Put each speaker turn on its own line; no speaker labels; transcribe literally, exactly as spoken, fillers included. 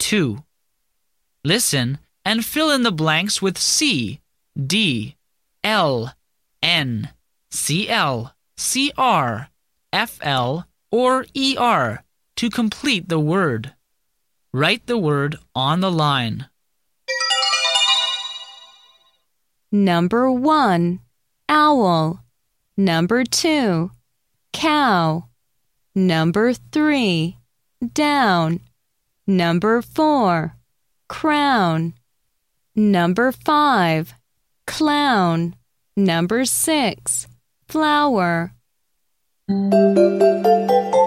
two. Listen and fill in the blanks with C, D, L, N, C L, C R, F L, or E R to complete the word. Write the word on the line.
Number one, owl. Number two, cow. Number three, down. Number four, crown. Number five, clown. Number six, flower.